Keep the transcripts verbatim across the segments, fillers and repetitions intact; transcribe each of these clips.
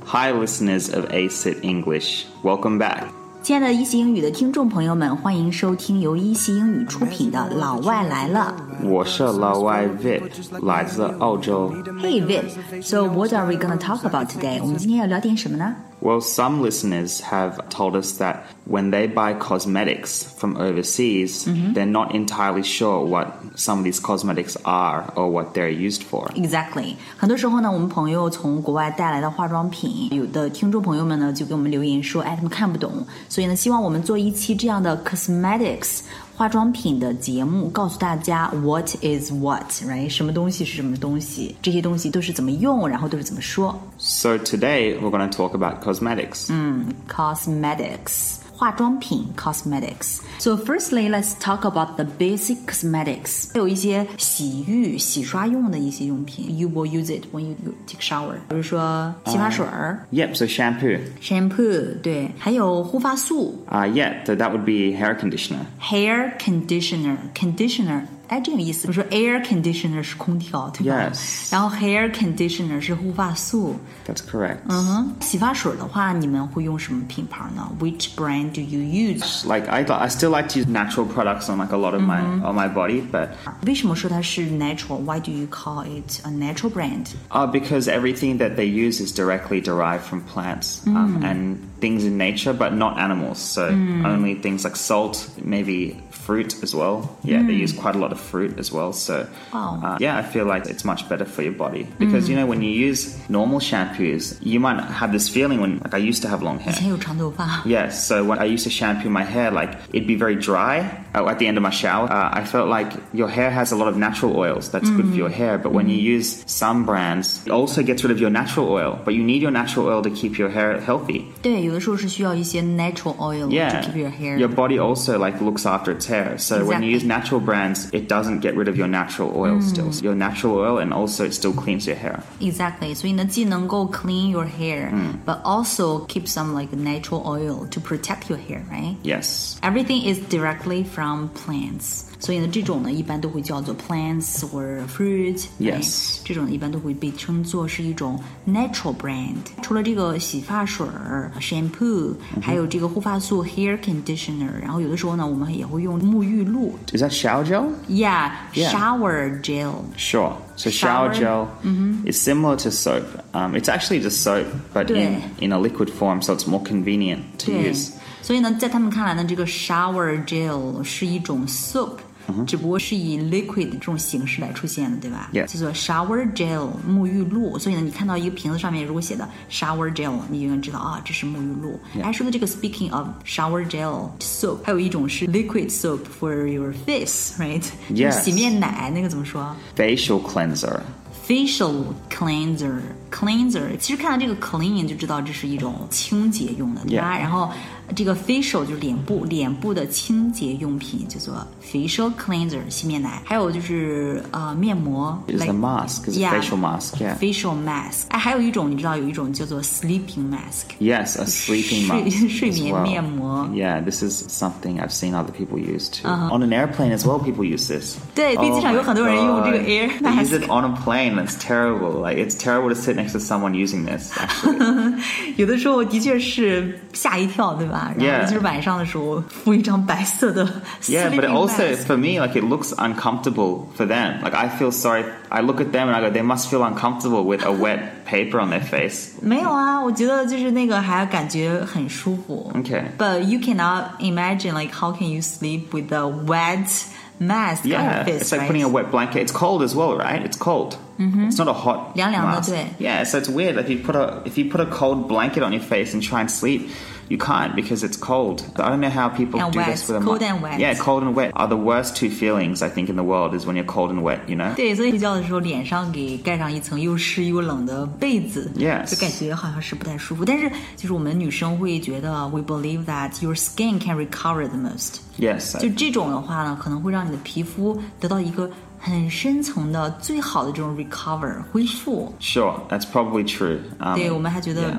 Hi, listeners of A C I T English. Welcome back. 亲爱的一席英语的听众朋友们，欢迎收听由一席英语出品的《老外来了》。 我是老外 Vid， 来自澳洲。 Hey Vid, so what are we going to talk about today? 我们今天要聊点什么呢？ Well, some listeners have told us that when they buy cosmetics from overseas, mm-hmm. they're not entirely sure what some of these cosmetics are or what they're used for. Exactly. 很多时候呢，我们朋友从国外带来的化妆品，有的听众朋友们呢就给我们留言说，哎，他们看不懂，所以呢，希望我们做一期这样的 cosmetics 化妆品的节目，告诉大家 what is what, right? 什么东西是什么东西，这些东西都是怎么用，然后都是怎么说。 So today we're going to talk about cosmetics. 嗯 cosmetics 化妆品 cosmetics. So firstly, let's talk about the basic cosmetics. 有一些洗浴、洗刷用的一些用品 ，you will use it when you take shower. 比如说洗发水儿。 Uh, yep, so shampoo. Shampoo, 对，还有护发素。 Uh, yeah, so that would be hair conditioner. Hair conditioner, conditioner. 哎，这有意思。比如说 air conditioner 是空调，对吧？ Yes. 然后 hair conditioner 是护发素。 That's correct. 嗯哼，洗发水的话，你们会用什么品牌呢 ？Which brand do you use? Like I, I still like to use natural products on like a lot of my on my body, but 为什么说它是 natural? Why do you call it a natural brand? Uh, because everything that they use is directly derived from plants um, and things in nature, but not animals. So only things like salt, maybe fruit as well. Yeah, they use quite a lot of fruit as well. So Wow. uh, yeah, I feel like it's much better for your body because you know when you use normal shampoos, you might have this feeling when like I used to have long hair. 以前有长头发。 Yes, so when I used to shampoo my hair, like it'd be very dry uh, at the end of my shower. Uh, I felt like your hair has a lot of natural oils. That's good for your hair. But when you use some brands, it also gets rid of your natural oil. But you need your natural oil to keep your hair healthy. 对，有的时候是需要一些 natural oil Yeah, to keep your hair. your body also like looks after its hair. So when you Exactly. use natural brands, it doesn't get rid of your natural oil still. Your natural oil, and also it still cleans your hair. Exactly. 所以呢，既能够 clean your hair, but also keep some like natural oil to protect your hair, right? Yes. Everything is directly from plants. 所以呢，这种呢一般都会叫做 plants or fruit. Yes. 这种呢一般都会被称作是一种 natural brand. 除了这个洗发水、shampoo，、还有这个护发素 hair conditioner， 然后有的时候呢，我们也会用沐浴露。 Is that shower gel? Yeah, Yeah. shower gel. Sure. So shower, Shower. gel is similar to soap. Um, it's actually just soap, but 对。 in, in a liquid form, so it's more convenient to 对 use. 所以呢，在他们看来呢，这个 shower gel 是一种 soap，、只不过是以 liquid 这种形式来出现的，对吧？ Yeah. 叫做 shower gel 沐浴露。所以呢，你看到一个瓶子上面如果写的 shower gel， 你就能知道啊，这是沐浴露。 Yeah. 还说的这个 speaking of shower gel soap， 还有一种是 liquid soap for your face，right？ Yes. 就是洗面奶，那个怎么说？ Facial cleanser. Facial cleanser, cleanser， 其实看到这个 clean 就知道这是一种清洁用的，对吧？ Yeah. 然后这个 facial 就是脸部，脸部的清洁用品叫做 facial cleanser 洗面奶。还有就是呃面膜 It's like, a mask. It's yeah, a facial mask. Yeah. facial mask。哎，还有一种你知道有一种叫做 sleeping mask。 Yes, a sleeping 睡 mask. 睡 as 眠 well. 面膜。 Yeah, this is something I've seen other people use too. On an airplane as well, people use this. 对，飞机上有很多人用这个 air They use mask。 it on a plane. It's terrible. Like it's terrible to sit next to someone using this. Actually. 有的时候的确是吓一跳，对吧？然 Yeah. 后就是晚上的时候敷一张白色的 Yeah, but it sleeping also mask。 for me, like it looks uncomfortable for them. Like I feel sorry. I look at them and I go, they must feel uncomfortable with a wet paper on their face. 没有啊，我觉得就是那个还感觉很舒服。 Okay. But you cannot imagine like how can you sleep with a wet mask on your Yeah, face, it's like right? putting a wet blanket. It's cold as well, right? It's cold. It's not a hot 凉凉的， mask. 对。 Yeah, so it's weird. If you put a if you put a cold blanket on your face and try and sleep, you can't because it's cold. I don't know how people And do wet. this with a Cold mask. and wet. Yeah, cold and wet are the worst two feelings I think in the world is when you're cold and wet, you know? 对，所以睡觉的时候脸上给盖上一层又湿又冷的被子 Yes. 就感觉好像是不太舒服。但是就是我们女生会觉得 we believe that your skin can recover the most。 Yes. 就这种的话呢，可能会让你的皮肤得到一个很深层的、最好的这种 recover 恢复。 Sure, that's probably true. Um, 对，我们还觉得 yeah.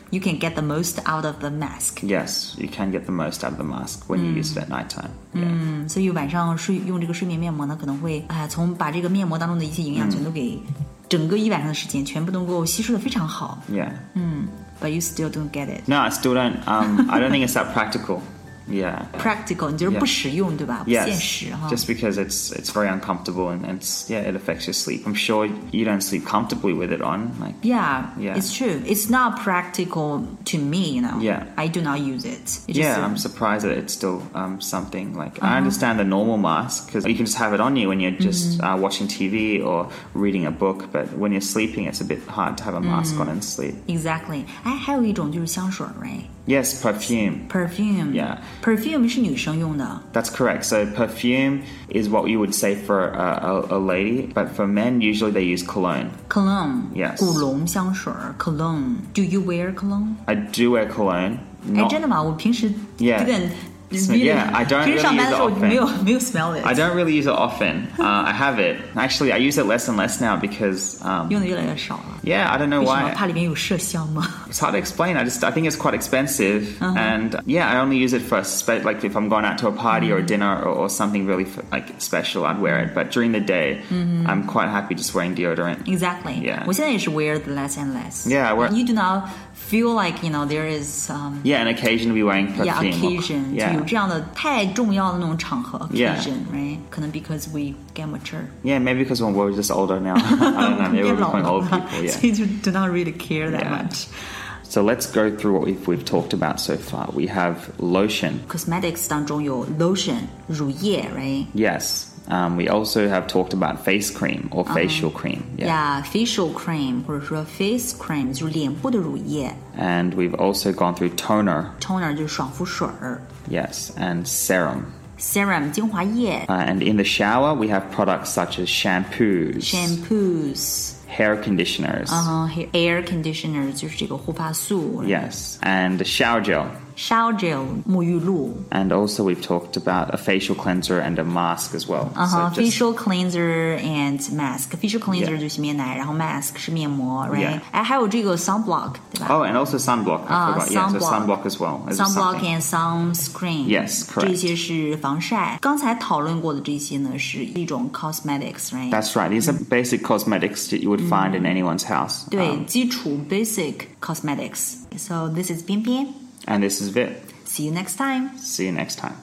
you can get the most out of the mask. Yes, you can get the most out of the mask when you use it at nighttime. Yeah. 嗯，所以晚上睡用这个睡眠面膜呢，可能会哎，从把这个面膜当中的一些营养全都给整个一晚上的时间全部能够吸收的非常好。 Yeah. 嗯 ，But you still don't get it. No, I still don't. Um, I don't think it's that practical. Yeah. Practical, 你就是不实用， yeah. 对吧？ Yes. 不现实哈。 Just because it's it's very uncomfortable and it's yeah it affects your sleep. I'm sure you don't sleep comfortably with it on. Like Yeah, yeah. It's true. It's not practical to me, you know. Yeah. I do not use it. It's yeah, just, I'm surprised that it's still um, something like uh-huh. I understand the normal mask because you can just have it on you when you're just mm-hmm. uh, watching T V or reading a book, but when you're sleeping, it's a bit hard to have a mask mm. on and sleep. Exactly. 哎，还有一种就是香水 ，right? Yes, perfume. Perfume. Yeah. Perfume 是女生用的。 That's correct. So perfume is what you would say for a, a, a lady, but for men, usually they use cologne. Cologne. Yes. 古龙香水 Cologne. Do you wear cologne? I do wear cologne. 哎， Not, 真的吗？我平时 Yeah. 这个 Yeah, I don't 平时 really 上班 use 的 it 时候 often. 没有没有 smell it. I don't really use it often. Uh, I have it. Actually, I use it less and less now because... Um, 用的越来越少了。 Yeah, I don't know 为什么？ why. 怕里面有麝香吗？ It's hard to explain. I just I think it's quite expensive, uh-huh. and yeah, I only use it for spe- like if I'm going out to a party mm-hmm. or a dinner or, or something really f- like special, I'd wear it. But during the day, mm-hmm. I'm quite happy just wearing deodorant. Exactly. Yeah. 我现在也是 wear the less and less. Yeah, I wear. You do not feel like you know there is. Um, yeah, an occasion to be wearing perfume. Yeah, occasion. Yeah. 就有这样的太重要的那种场合 occasion, Yeah. right? 可能 because we get mature. Yeah, maybe because we're just older now. I don't know. Maybe we're becoming old people. Yeah. So you do not really care that Yeah. much. So let's go through what we've we've talked about so far. We have lotion. Cosmetics 当中有 lotion 乳液 right? Yes. Um, we also have talked about face cream or facial uh-huh. cream. Yeah. yeah, facial cream 或者说 face cream 就是脸部的乳液。 And we've also gone through toner. Toner 就是爽肤水儿。 Yes, and serum. Serum 精华液。 Uh, and in the shower, we have products such as shampoos. Shampoos. Hair conditioners. Uh huh. Air conditioner 就是这个护发素。 Yes, and shower gel. Shower gel 沐浴露。 And also we've talked about a facial cleanser and a mask as well. Uh huh. So just, facial cleanser and mask. Facial cleanser Yeah. 就是洗面奶，然后 mask 是面膜 ，right？ Yeah. 哎，还有这个 sunblock， 对吧？ Oh, and also sunblock. I Uh, forgot. Yeah, so sunblock. sunblock as well. As Sunblock something. and sunscreen. Yes, correct. 这些是防晒。刚才讨论过的这些呢，是一种 cosmetics，right？ That's right. These are basic cosmetics that you would find in anyone's house. 对， Um, 基础 basic cosmetics. So this is 边边。 and this is Vit. See you next time. See you next time.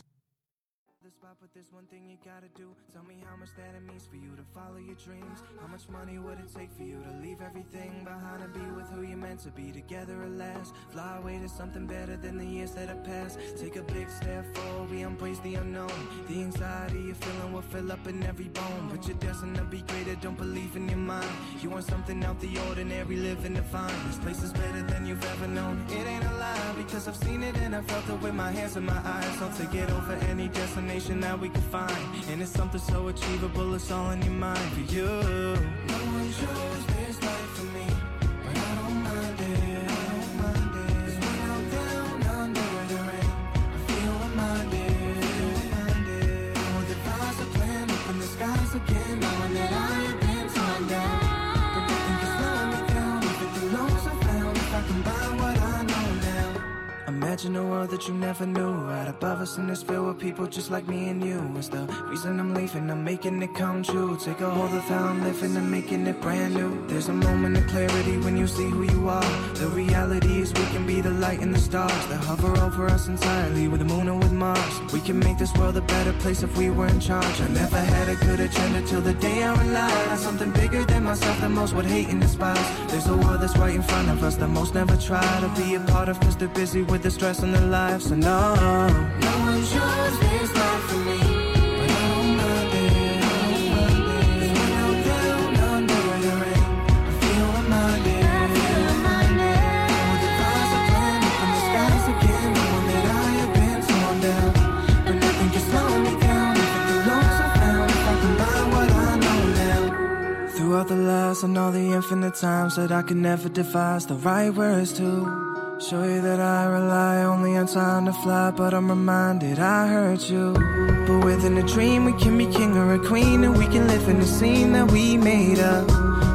How much money would it take for you to leave everything behind and be with who you're meant to be together at last? Fly away to something better than the years that have passed. Take a big step forward, we embrace the unknown. The anxiety you're feeling will fill up in every bone, but you're destined to be greater, don't believe in your mind. You want something out the ordinary, living divine. This place is better than you've ever known. It ain't a lie, because I've seen it and I felt it with my hands and my eyes. I'll take it over any destination that we can find. And it's something so achievable, it's all in your mind for you. No one shows this life for me, but I don't mind it, I don't mind it. 'Cause when I'm down under the rain, I feel reminded, reminded. I would devise a plan, open the skies again, knowing that I have been torn down. But nothing can slow me down, if it the lows I found, if I combine what I know now. Imagine a world that you never knew, right above us in this field with people just like me and you. It's the reason I'm leaving, I'm making it come true. Take a hold of how I'm living and making it brand new. There's a moment of clarity when you see who you are. The reality is we can be the light and the stars that hover over us entirely, with the moon and with Mars. We can make this world a better place if we were in charge. I never had a good agenda till the day I relied on something bigger than myself that most would hate and despise. There's a world that's right in front of us that most never try to be a part of, cause they're busy with the stress in their lives. So no, no one shows this life for me, but I don't mind it, I don't mind it. 'Cause when I'm down under the rain, I feel reminded, I feel reminded. I would devise a plan, open the skies again, knowing that I have been torn down. But nothing can slow me down, if it the lows I found, if I combine what I know now. Throughout the last and all the infinite times that I could never devise the right words to show you that I rely only on time to fly, but I'm reminded I hurt you. But within a dream we can be king or a queen, and we can live in the scene that we made up.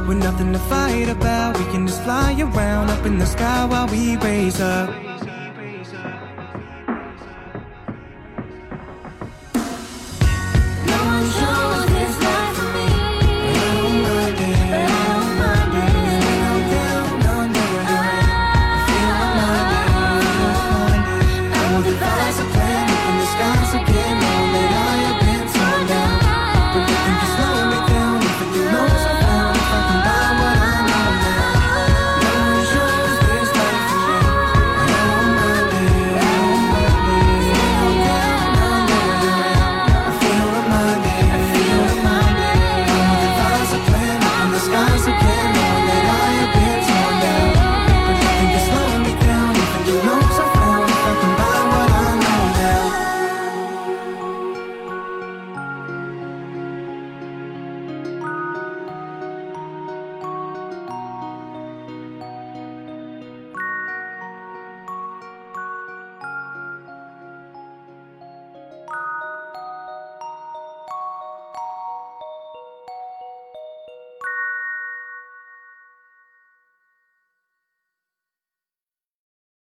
with nothing to fight about. We can just fly around up in the sky while we raise up.